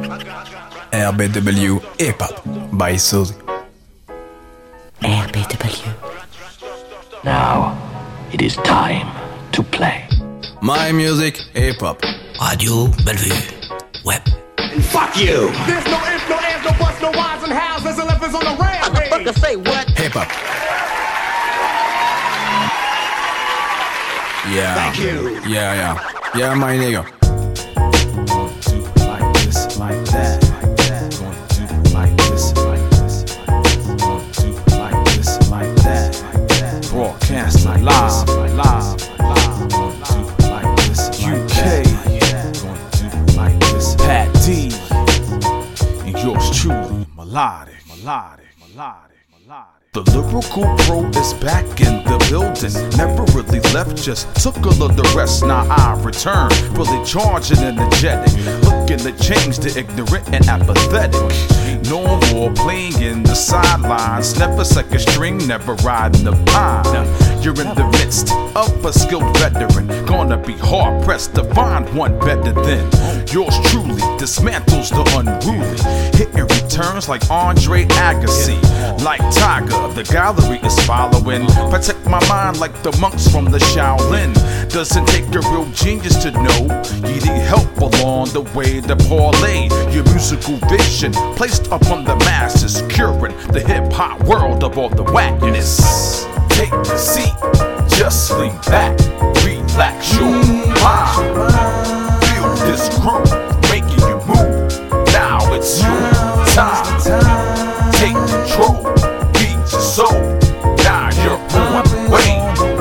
RBW Hip Hop by Suzy. RBW. Now, it is time to play. My music, hip hop. Radio Bellevue. Web. Fuck you! There's no ifs, no ands, no buts, no whys and hows. There's 11s on the rampage. Motherfucker say what? Hip hop. Yeah. Thank you. Yeah, my nigga. Like this, like that. Gonna do like this, like this. Gonna do like this, like that. Broadcast live. Gonna do like this, UK. Gonna do like this, Pat D. And yours truly, melodic. The lyrical pro is back in the building. Never really left, just took a little rest. Now I return, fully charged and energetic. Looking to change the ignorant and apathetic. No more playing in the sidelines. Never second string, never riding the pine. You're in the midst of a skilled veteran. Gonna be hard pressed to find one better than yours truly. Dismantles the unruly. Hitting returns like Andre Agassi. Like Tiger, the gallery is following. Protect my mind like the monks from the Shaolin. Doesn't take a real genius to know you need help along the way to parlay your musical vision placed upon the masses, curing the hip-hop world of all the whackness. Take a seat, just lean back, relax your mind. Feel this groove, making you move. Now it's your time. Take control, beat your soul. Now you're on the way.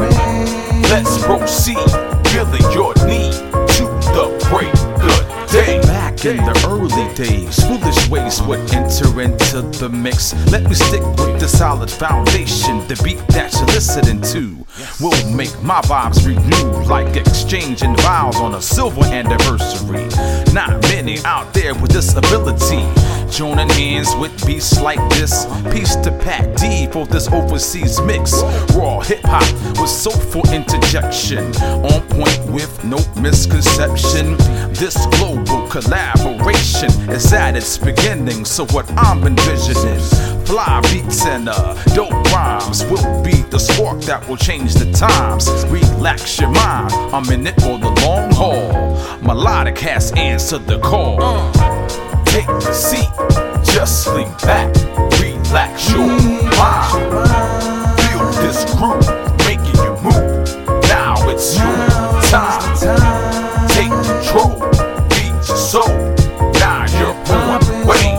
Let's proceed, feeling your need to the break good day. Back in the early days, foolish ways would enter into the mix. Let me stick with the solid foundation. The beat that you're listening to will make my vibes renew, like exchanging vows on a silver anniversary. Not many out there with this ability, joining hands with beats like this. Peace to Pat D for this overseas mix. Raw hip hop with soulful interjection, on point with no misconception. This global collaboration is at its beginning, so what I'm envisioning, fly beats and dope rhymes will be the spark that will change the times. Relax your mind, I'm in it for the long haul. Melodic has answered the call. Take a seat, just lean back, relax your mind. Feel this groove, making you move. Now it's your time. Take control, beat your soul. Now you're on the way.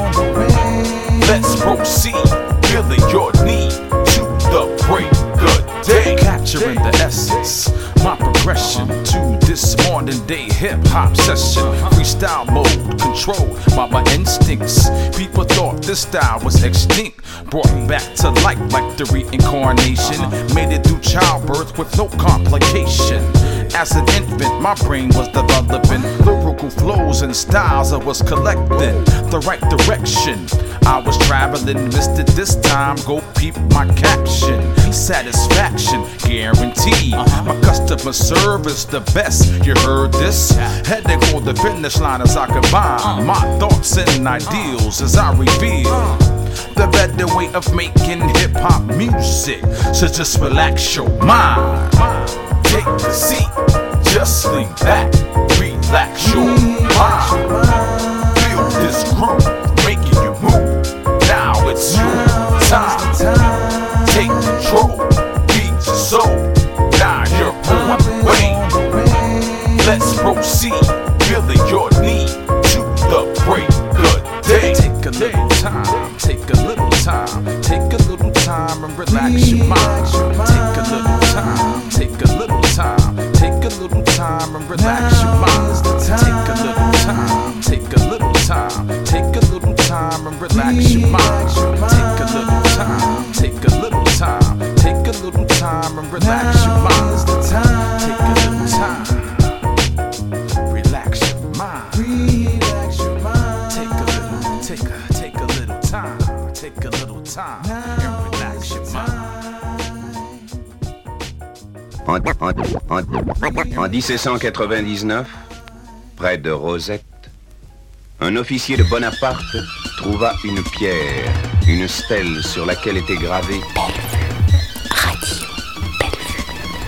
Let's proceed, feeling your need to the break good day. Capturing the essence, my progression to this modern day hip hop session. Freestyle mode, controlled by my instincts. People thought this style was extinct, brought back to life like the reincarnation. Made it through childbirth with no complication. As an infant, my brain was developing lyrical flows and styles. I was collecting the right direction. I was traveling, missed it this time. Go peep my caption. Satisfaction guaranteed. My customer service the best. You heard this? Heading for the finish line as I combine my thoughts and ideals as I reveal the better way of making hip hop music. So just relax your mind. Take a seat, just lean back, relax your mind. Feel this groove, making you move. Now it's your time. Take control, beat your soul. Now you're on the way. Let's proceed, feeling your need to the break good day. Take a little time, take a little time, take a little time and relax your mind. Take a little time, take a little time, take a little time and relax your mind. Take a little time, take a little time, take a little time and relax your mind. Take a little time, take a little time, take a little time and relax your mind. Take a little time, relax your mind. Take a little time, take a little time and relax your mind. En 1799, près de Rosette, un officier de Bonaparte trouva une pierre, une stèle sur laquelle était gravé Radio Bellevue.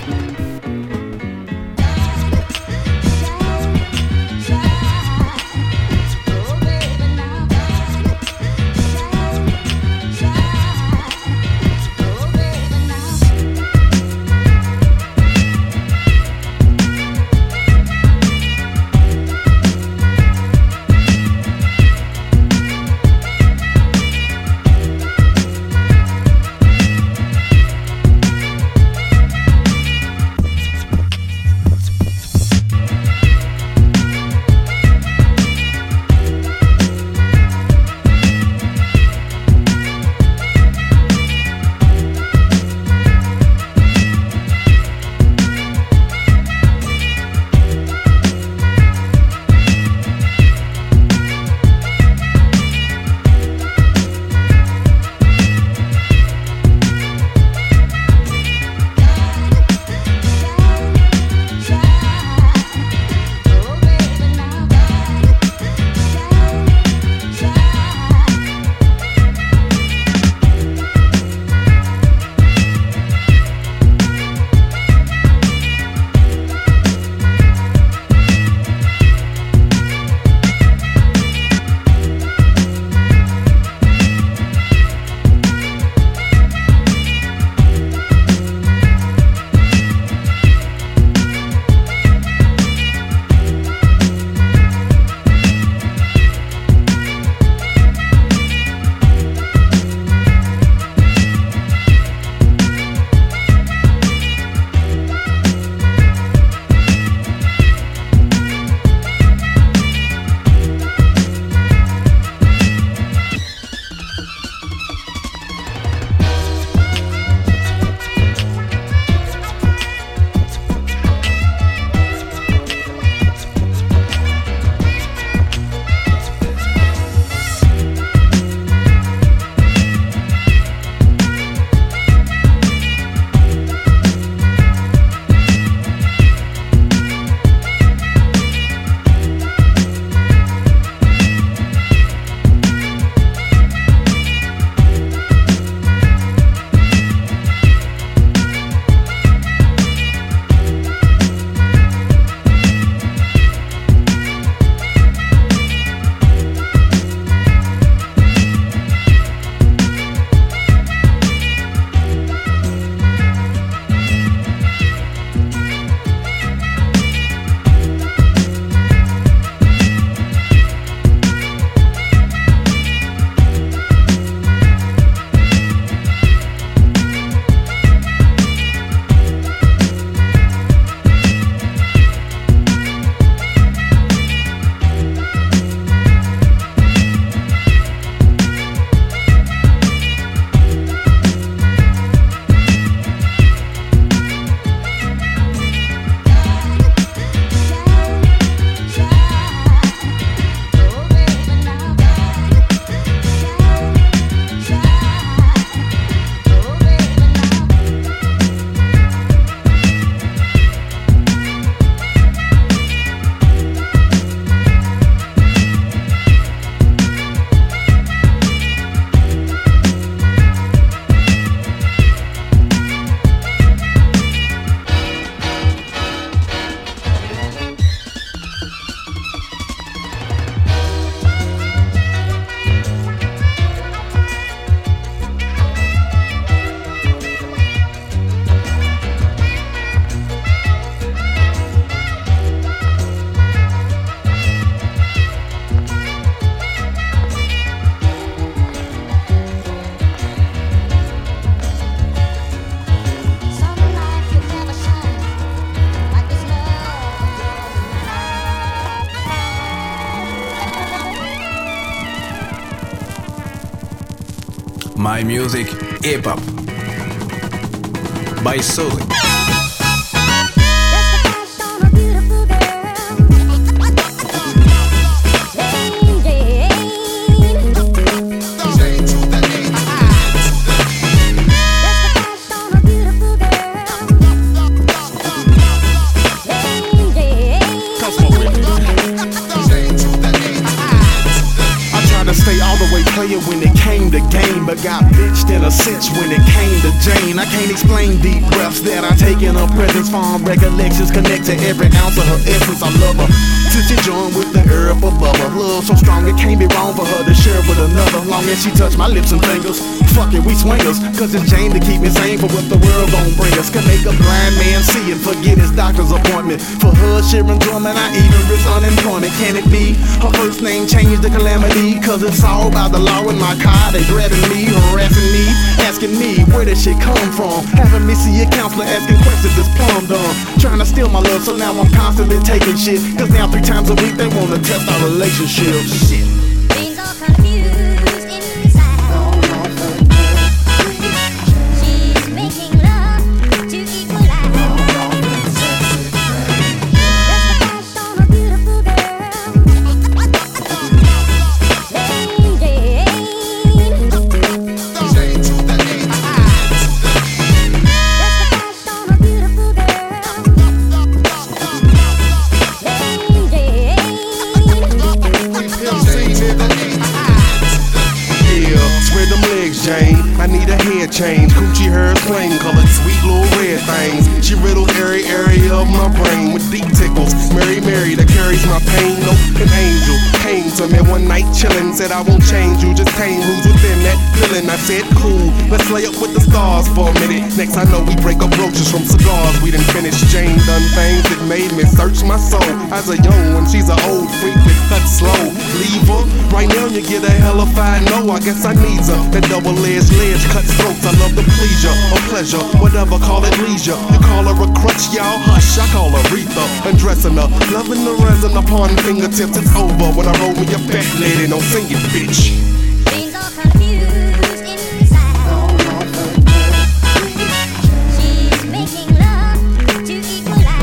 My Music Hip-Hop by Suzy. to stay all the way player when it came to game, but got bitched in a cinch when it came to Jane. I can't explain deep breaths that I take in her presence. Fond recollections connect to every ounce of her essence. I love her till she joined with the herb of bubble. Love so strong it can't be wrong for her to share with another. Long as she touch my lips and fingers, fuck it, we swingers. Cause it's Jane to keep me sane for what the world gon' bring us. Can make a blind man see and forget his doctor's appointment. For her sheer enjoyment, I even risk unemployment. Can it be her first name changed to Calamity? Cause it's all by the law in my car. They grabbing me, harassing me, asking me where this shit come from. Having me see a counselor asking questions that's plumb dumb. Trying to steal my love, so now I'm constantly taking shit. Cause now 3 times a week they wanna test our relationship. Shit. Things are confused inside. She's making love to equalize. Just a flash on a beautiful girl. Jane, I need a hair change. Coochie hers plain colored, sweet little red things. She riddle every area of my brain with deep tickles. Mary that carries my pain. No, an angel came to me one night chillin', said I won't change you, just tame who's within that feeling. I said cool, let's lay up with the stars for a minute. Next I know we break up roaches from cigars. We done finished. Jane done things that made me search my soul. As a young one, she's an old freak that cuts slow. Leave her right now, you get a hellified no. I guess I need her. That double-edged ledge cuts throats. I love the pleasure or pleasure, whatever, call it leisure. You call her a crutch, y'all hush. I call her Aretha, undressing her, loving the resin upon fingertips. It's over when I roll me a fat lady. Don't sing it, bitch. Things are confused inside. She's making love to equalize.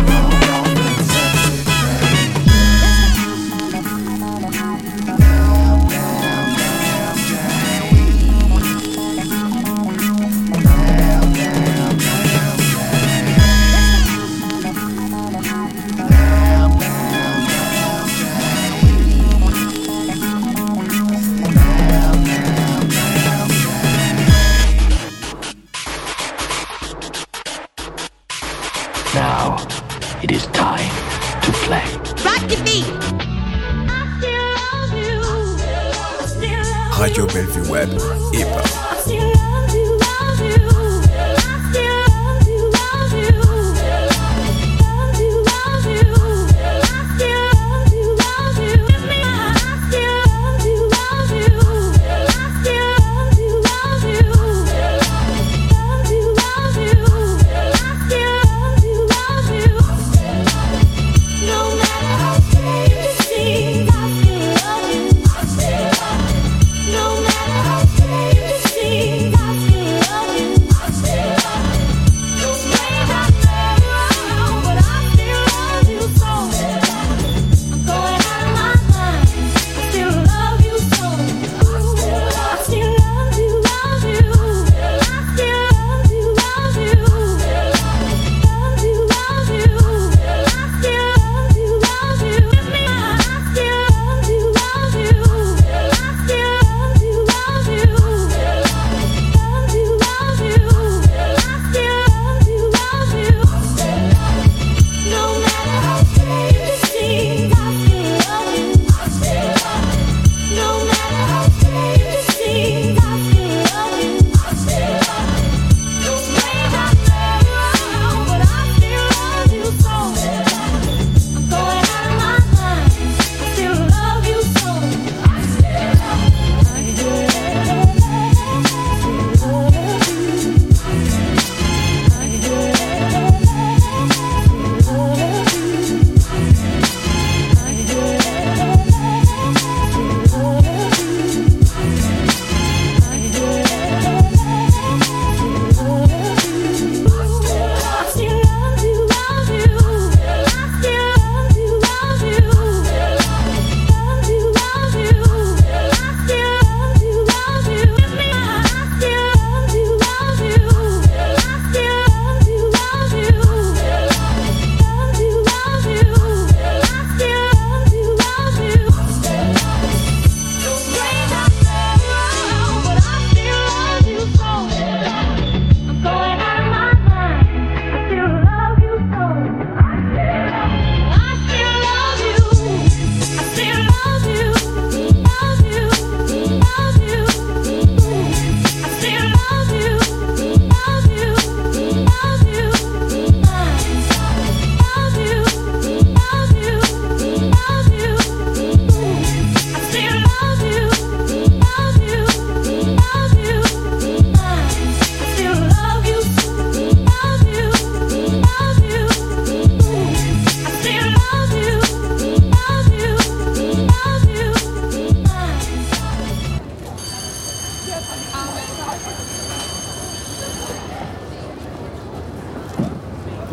Now, it is time to play. Rock your feet. Radio Bellevue Web, hip-hop. No matter how strange it seems,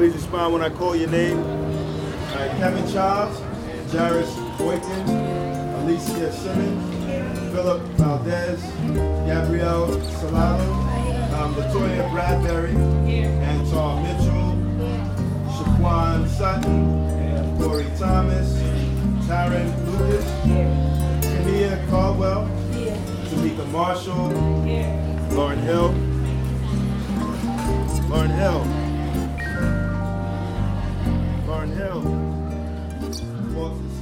Please respond when I call your name. All right, Kevin Charles, Jairus Boykin, Alicia Simmons, Philip Valdez, Gabrielle Salado, Latoya Bradbury, Anton Mitchell, Shaquan Sutton, Corey Thomas, Tyron Lucas, Kenia Caldwell, Tamika Marshall, Lauren Hill, Lauren Hill, walk the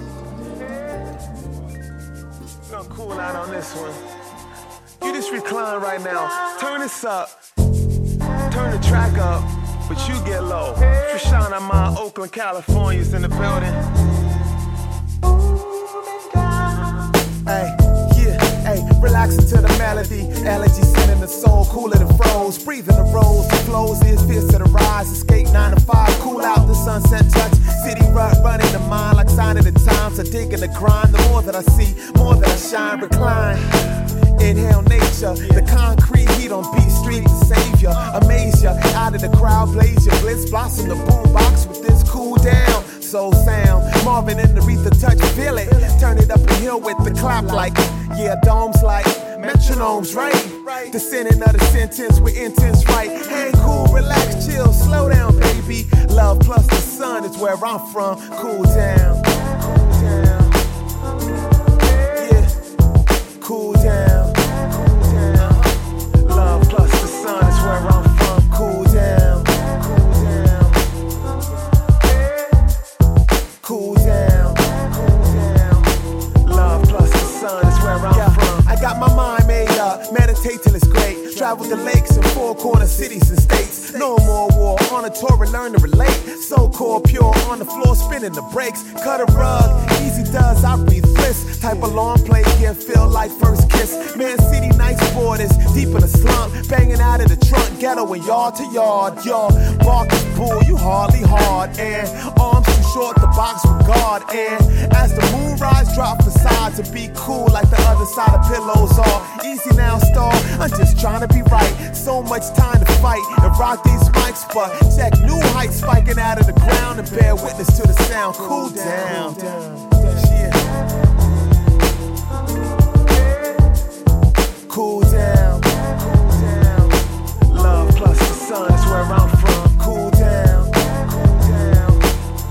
space. Gonna cool out on this one. You just recline right now. Turn this up. Turn the track up, but you get low. Trishana, my Oakland, California's in the building. Hey, yeah, hey, relaxing to the melody. Allergy sending the soul, cooler than froze. Breathing the rose, the flows is fierce to the rise. Escape 9 to 5, cool out the sunset touch. City rut, running the mind like sign of the times. I dig in the grind, the more that I see, more that I shine, recline. Inhale nature, the concrete heat on B Street, the savior, amaze ya. Out of the crowd, blaze your blitz, blossom the boombox with this cool down. Soul sound, Marvin and Aretha touch, feel it. Turn it up and hill with the clap like, yeah, domes like metronomes, right? Descending of the sentence with intense right. Hey, cool, relax, chill, slow down, baby. Love plus the sun is where I'm from. Cool down, cool down. Yeah, cool down, cool down. Love plus the sun is where I'm from. Cool down, cool down. Cool down, cool down. Love plus the sun is where I'm from. I got my mind made up, meditate till it's great. Travel the lakes and four corner cities and states. No more war, on a tour and learn to relate. So core pure, on the floor spinning the brakes. Cut a rug, easy does, I breathe bliss. Type of long play, yeah, feel like first kiss. Man City, nice borders, deep in the slump. Banging out of the trunk, ghetto and yard to yard. Your bark is bull, you hardly hard. And arms too short, the box with guard. And as the moon rise, drop facade to be cool like the other side of pillows are. Easy now, star, I'm just trying to be right. So much time to fight and rock these mics, but check new heights spiking out of the ground and bear witness to the sound. Cool down. Yeah. Cool down. Cool down. Love plus the sun is where I'm from. Cool down. Cool down.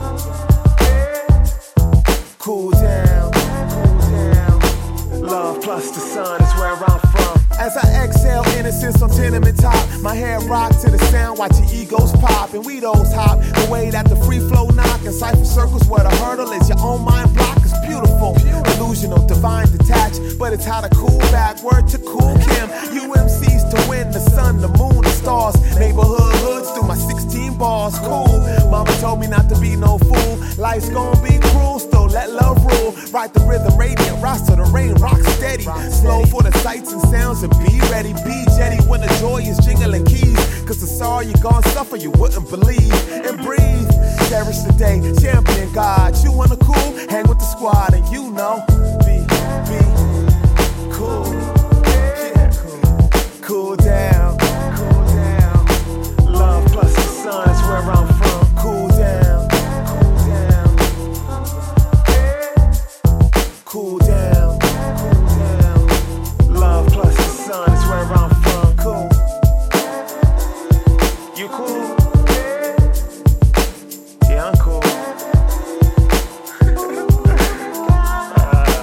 Cool down. Cool down. Love plus the sun is where I'm from. As I exhale innocence on tenement top, my head rock to the sound, watch your egos pop and we those hop. The way that the free flow knock and cipher circles where the hurdle is your own mind block is beautiful. Illusional, divine, detached, but it's how to cool back. Word to Cool Kim, UMCs to win the sun, the moon, the stars. Neighborhood hoods through my 16 bars. Cool, mama told me not to be no fool. Life's gonna be cruel, still let love rule. Write the rhythm, radiant, rise to the rain, rock steady. Slow for the sights and sounds and be ready, be jetty when the joy is jingling keys. Cause the sorrow you gon' suffer you wouldn't believe. And breathe, cherish the day, champion God. You wanna cool, hang with the squad and you know, be cool. Yeah, cool down, cool down. Love plus the sun is where I'm from. Cool down, cool down. Cool down, cool down. Love plus the sun is where I'm from. Cool. You cool? Yeah, I'm cool.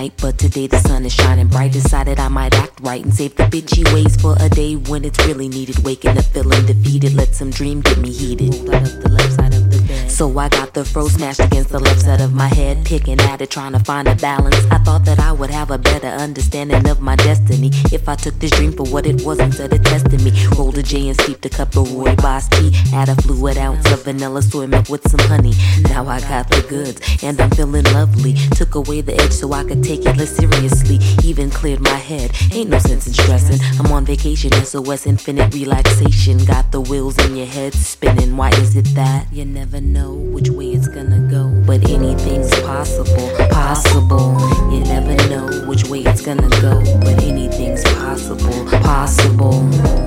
night, but today the sun is shining bright. Decided I might act right and save the bitchy ways for a day when it's really needed. Waking up feeling defeated, let some dream get me heated. Rolled out of the left side of the bed. So I got the fro smashed against the left side of my head, picking at it, trying to find a balance. I thought that I would have a better understanding of my destiny if I took this dream for what it was instead of testing me. Rolled a J and steeped a cup of rooibos tea. Add a fluid ounce of vanilla soy milk with some honey. Now I got the goods and I'm feeling lovely. Took away the edge so I could take it less seriously. Even cleared my head, ain't no sense in stressing. I'm on vacation, SOS infinite relaxation. Got the wheels in your head spinning. Why is it that you never know which way it's gonna go? But anything's possible, possible. You never know which way it's gonna go. But anything's possible, possible.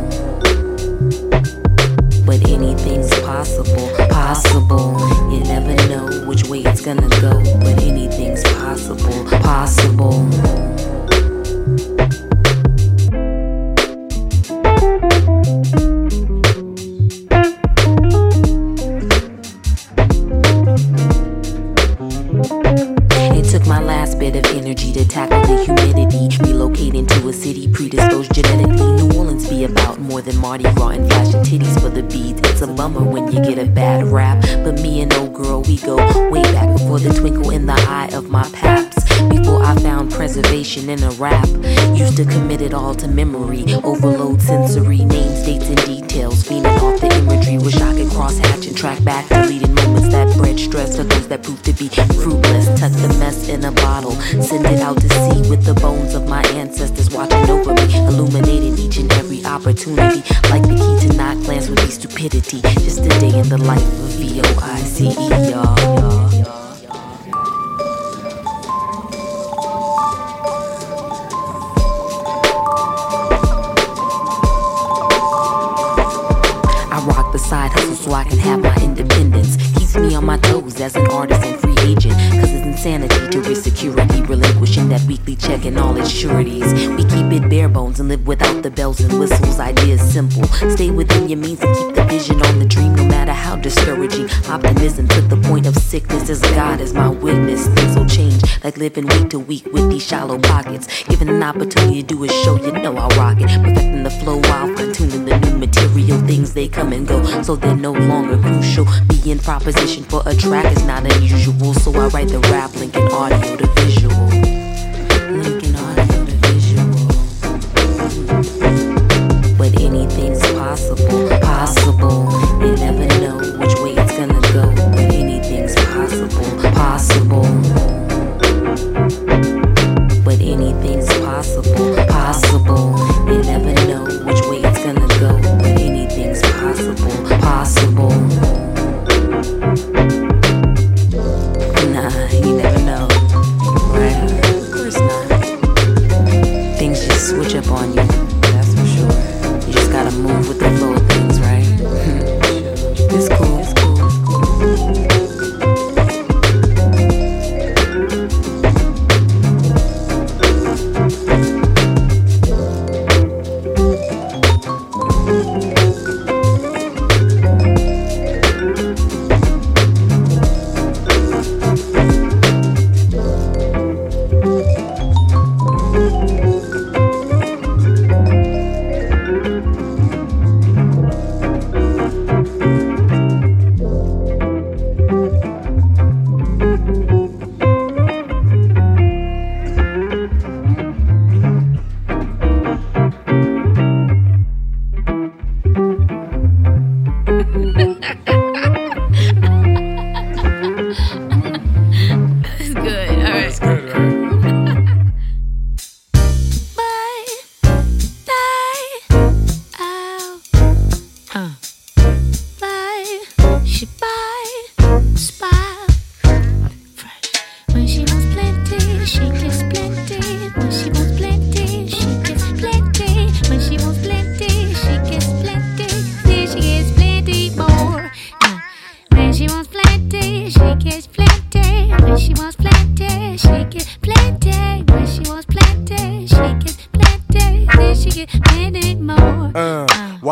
But anything's possible, possible. You never know which way it's gonna go. But anything's possible, possible. It took my last bit of energy to tackle the humidity. Relocating to a city predisposed genetically. New Orleans be about more than Mardi Gras and flashing titties for the beads. It's a bummer when you get a bad rap, but me and old girl, we go way back before the twinkle in the eye of my paps. Before I found preservation in a rap, used to commit it all to memory. Overload sensory, names, dates, and details. Feeding off the imagery, wish I could cross-hatch and track back deleted moments that bred stress to those that proved to be fruitless. Tuck the mess in a bottle, send it out to sea with the bones of my ancestors watching over me, illuminating each and every opportunity. Like the key to not glance would be stupidity. Just a day in the life of VOICE, y'all. Side hustle so I can have my independence. Keeps me on my toes as an artist and free agent. Cause it's insanity to risk security, relinquishing that weekly check and all its sureties. We keep it bare bones and live without the bells and whistles. Ideas simple. Stay within your means and keep the vision on the dream, no matter how discouraging. Optimism to the point of sickness as God is my witness. Things will change like living week to week with these shallow pockets. Given an opportunity to do a show, you know I'll rock it. Perfecting the flow while fine-tuning the new material. Things they come and go, so they're no longer crucial. Being proposition for a track is not unusual, so I write the rap, linking audio to visual. Linking audio to visual. But anything's possible, possible. You never know which way it's gonna go. But anything's possible, possible. But anything's possible, possible. You never know which way it's gonna go. But anything's possible, possible. Nah, you never know, right? Of course not. Things just switch up on you, that's for sure. You just gotta move with the flow of things, right?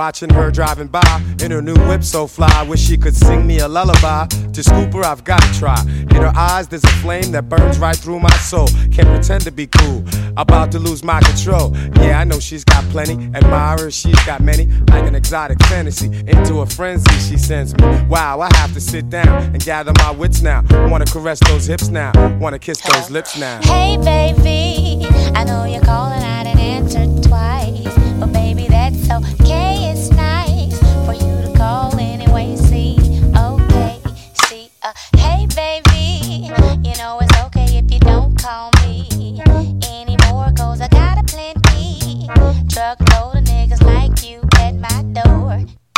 watching her driving by in her new whip so fly. Wish she could sing me a lullaby. To scoop her, I've gotta try. In her eyes, there's a flame that burns right through my soul. Can't pretend to be cool, about to lose my control. Yeah, I know she's got plenty admirers, she's got many. Like an exotic fantasy, into a frenzy she sends me. Wow, I have to sit down and gather my wits now. Wanna caress those hips now, wanna kiss those lips now. Hey baby, I know you're calling, I didn't answer twice, but baby that's okay, it's nice for you to call anyway. See, okay, see, hey baby, you know it's okay if you don't call me anymore, 'cause I got a plenty truckload of niggas like you at my door.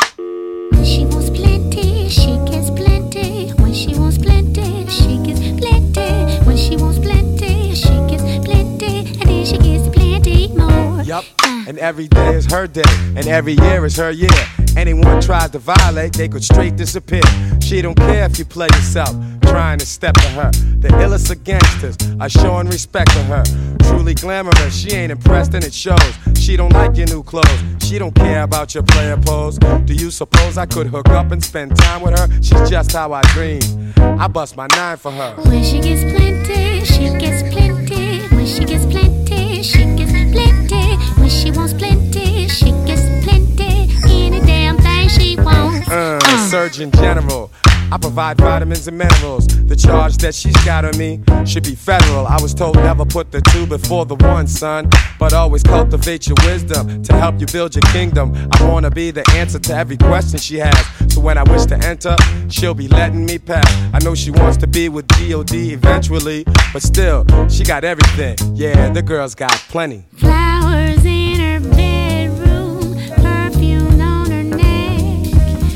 When she wants plenty, she gets plenty. When she wants plenty, she gets plenty. When she wants plenty, she gets plenty. And then she gets plenty more. Yup, and every day is her day, and every year is her year. Anyone tries to violate, they could straight disappear. She don't care if you play yourself, trying to step to her. The illest of gangsters are showing respect to her. Truly glamorous, she ain't impressed and it shows. She don't like your new clothes, she don't care about your player pose. Do you suppose I could hook up and spend time with her? She's just how I dream, I bust my 9 for her. When she gets plenty, she gets plenty. When she gets plenty, she gets plenty. When she wants plenty, she gets plenty. Any damn thing she wants. Surgeon General, I provide vitamins and minerals. The charge that she's got on me should be federal. I was told never put the 2 before the 1, son, but always cultivate your wisdom to help you build your kingdom. I wanna be the answer to every question she has, so when I wish to enter, she'll be letting me pass. I know she wants to be with G.O.D. eventually, but still, she got everything. Yeah, the girl's got plenty. Flowers in her bedroom, perfume on her neck,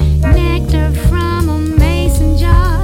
nectar from a mason jar,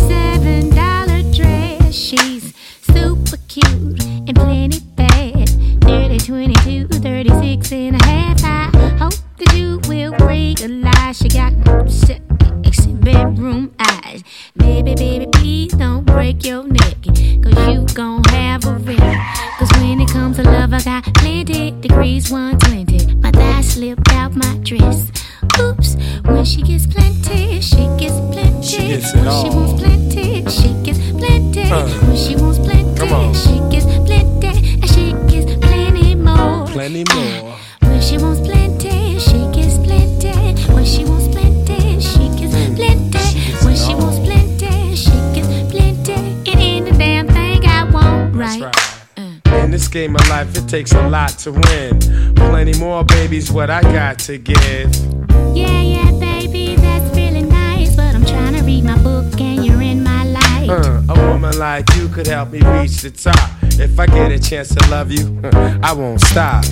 $7 dress. She's super cute and plenty bad. 30, 22, 36 and a half. I hope that you will realize she got sexy bedroom eyes. Baby, baby, please don't break your neck, 'cause you gon' have a wreck. 'Cause when it comes to love, I got plenty degrees, 120. My thigh slipped out my dress. Oops, when she gets plenty, she gets plenty. She gets it when all. she wants plenty, she gets plenty. When she wants plenty, she gets plenty. And she gets plenty more. Plenty more. When she wants plenty, she gets plenty. When she wants plenty, she gets plenty. When she wants plenty, she gets plenty. It ain't a damn thing I want, right? In this game of life, it takes a lot to win. Plenty more, baby's what I got to give. Yeah, yeah, baby, that's really nice, but I'm trying to read my book and you're in my life. A woman like you could help me reach the top. If I get a chance to love you, I won't stop.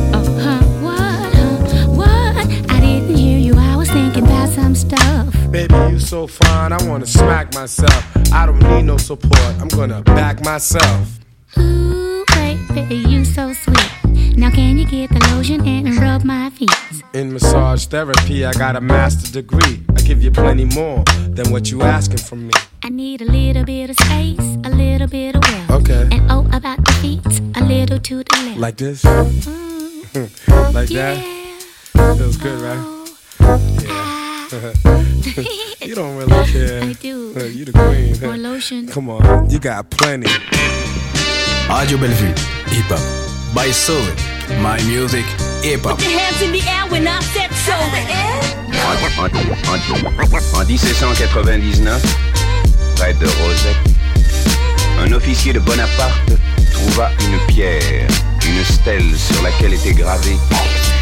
What? I didn't hear you, I was thinking about some stuff. Baby, you so fine, I wanna smack myself. I don't need no support, I'm gonna back myself. Ooh, baby, you so sweet. Now can you get the lotion and rub my feet? In massage therapy, I got a master's degree. I give you plenty more than what you asking from me. I need a little bit of space, a little bit of wealth. Okay. And oh, about the feet, a little to the left. Like this? Like that? Feels good, right? Yeah. You don't really care. I do. You the queen. More lotion. Come on, you got plenty. Radio Bellevue, hip hop. By Soul, my music, hip hop. Put your hands in the air when I said so. En 1799, près de Rosette, un officier de Bonaparte trouva une pierre, une stèle sur laquelle était gravé